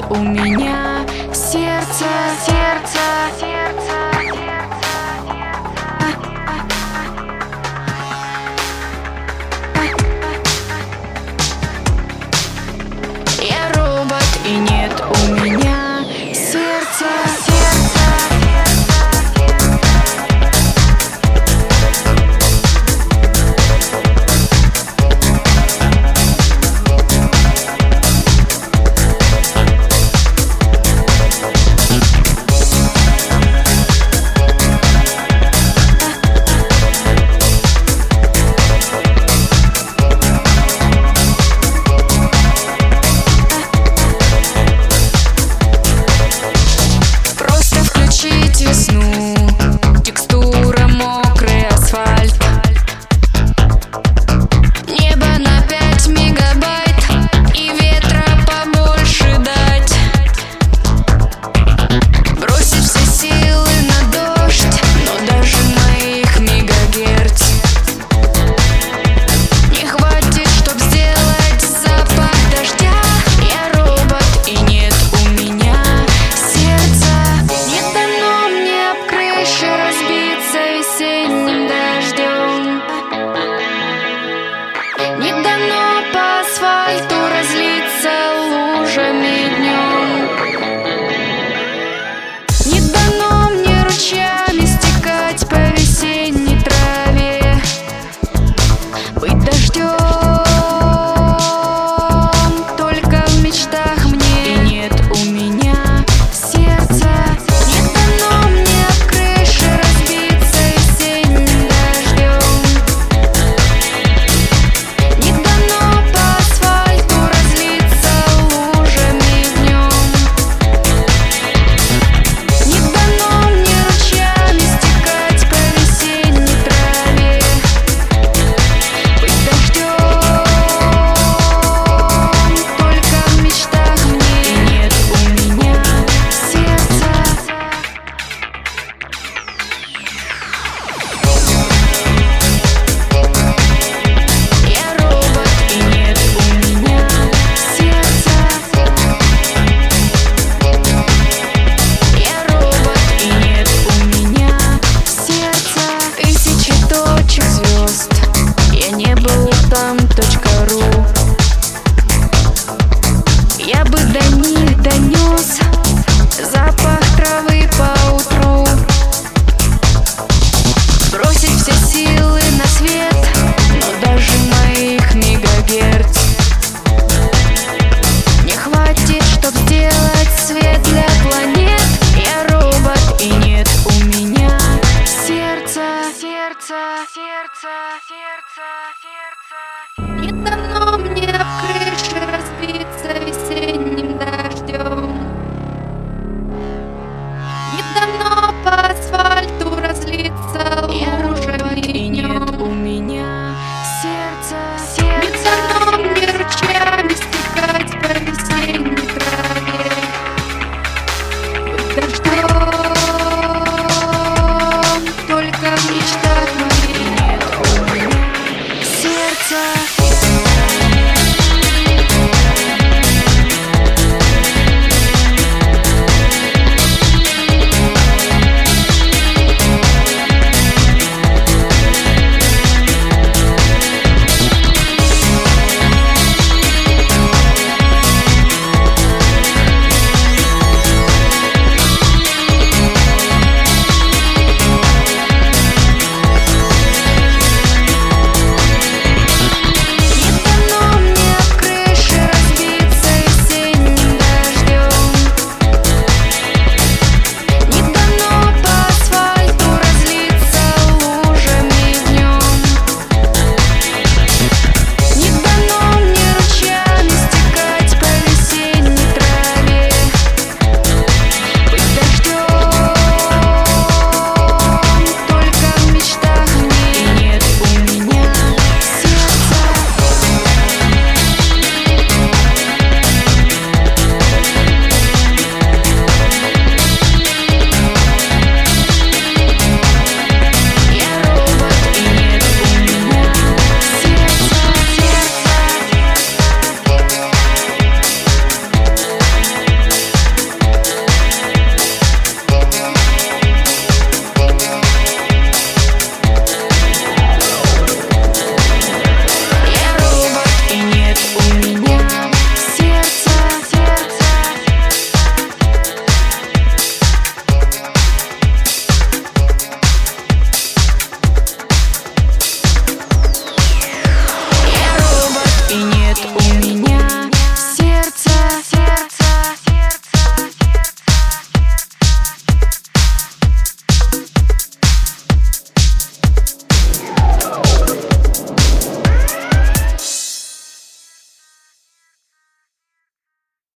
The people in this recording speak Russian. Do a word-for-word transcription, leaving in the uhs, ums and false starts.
у меня сердце, сердце, сердце. Я робот, и нет у меня сердца, сердца. Весну, текстура мокрый асфальт, небо на пять мегабайт и ветра побольше дать. Бросить все силы на дождь, но даже моих мегагерц не хватит, чтоб сделать запах дождя. Я робот, и нет у меня сердца. Не дано разбиться весенним дождем, не дано по асфальту разлиться лужами днем, не дано мне ручьями стекать по весенней траве, быть дождем только в мечтах мне. И нет у меня сердца. Я бы до них донес запах травы по утру, бросить все силы на свет, но даже моих мегагерц не хватит, чтоб сделать свет для планет. Я робот, и нет у меня сердца, сердца, сердца, сердца, сердца. Не дано мне в крыше разбиться весенним дождем, не дано по асфальту разлиться лужами, и нет у меня сердца, сердца. Не дано мне ручьями стекать по весенней траве, быть дождем